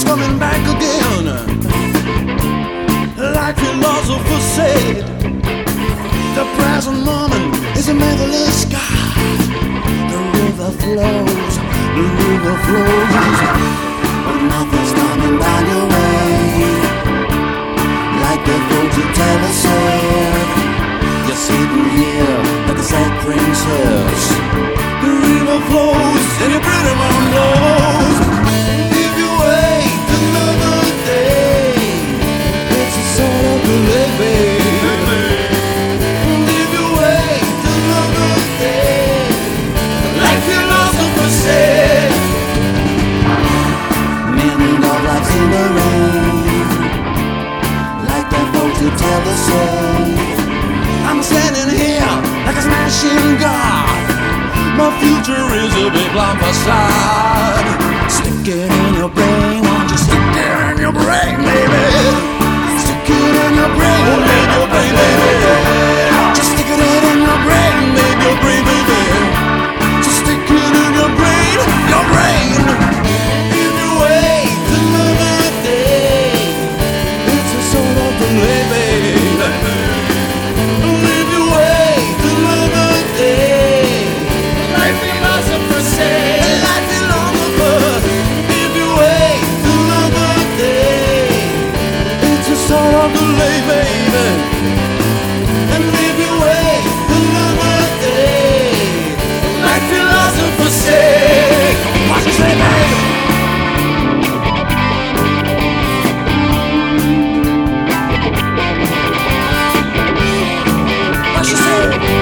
coming back again. Like philosophers said, the present moment is a measureless sky. The river flows, but nothing's coming down your way. Like the fortune teller said, you're sitting here like a sad princess. The river flows and your pretty one blows. If you wait another day, it's a sort of delay, baby. If you wait another day, like philosophers said, many of life's in the rain. Like that fortune teller said, I'm standing here like a smashing god. My future is a big long facade. Stick it in your brain, won't you stick it in your brain, baby? Stick it in your brain, in your brain, baby. Just stick it in your brain, baby, your brain, baby. Just stick it in your brain, your brain. If you wait another day, it's a sort of delay, baby. If you wait another day, like philosophers say, like philosophers. If you wait another day, it's a sort of delay, baby. And if you wait another day, like philosophers say, what you say, baby? What you say?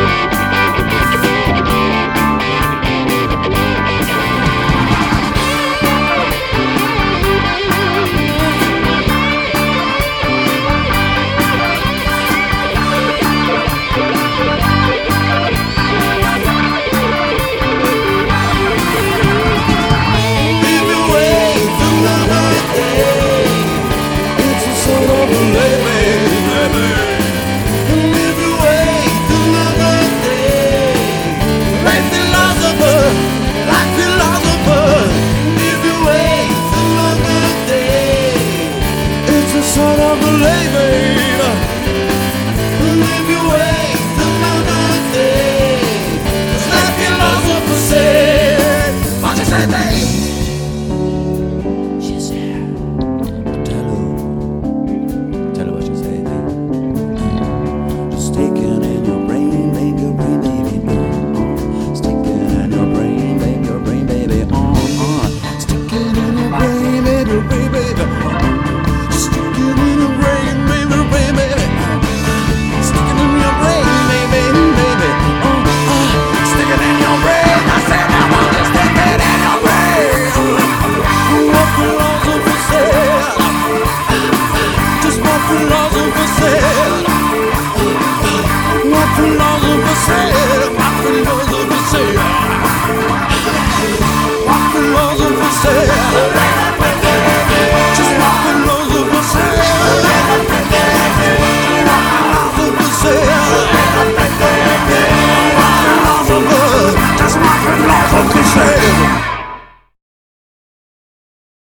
Sort of delay, baby. And if you wait another day, it's like philosophers say, what you say, babe? She's here. Tell her what you say, babe. Just stick it in your brain, baby, your brain, baby. Stick it in your brain, baby, your brain, baby. Stick it in your brain, baby, your brain, baby. What philosophers say,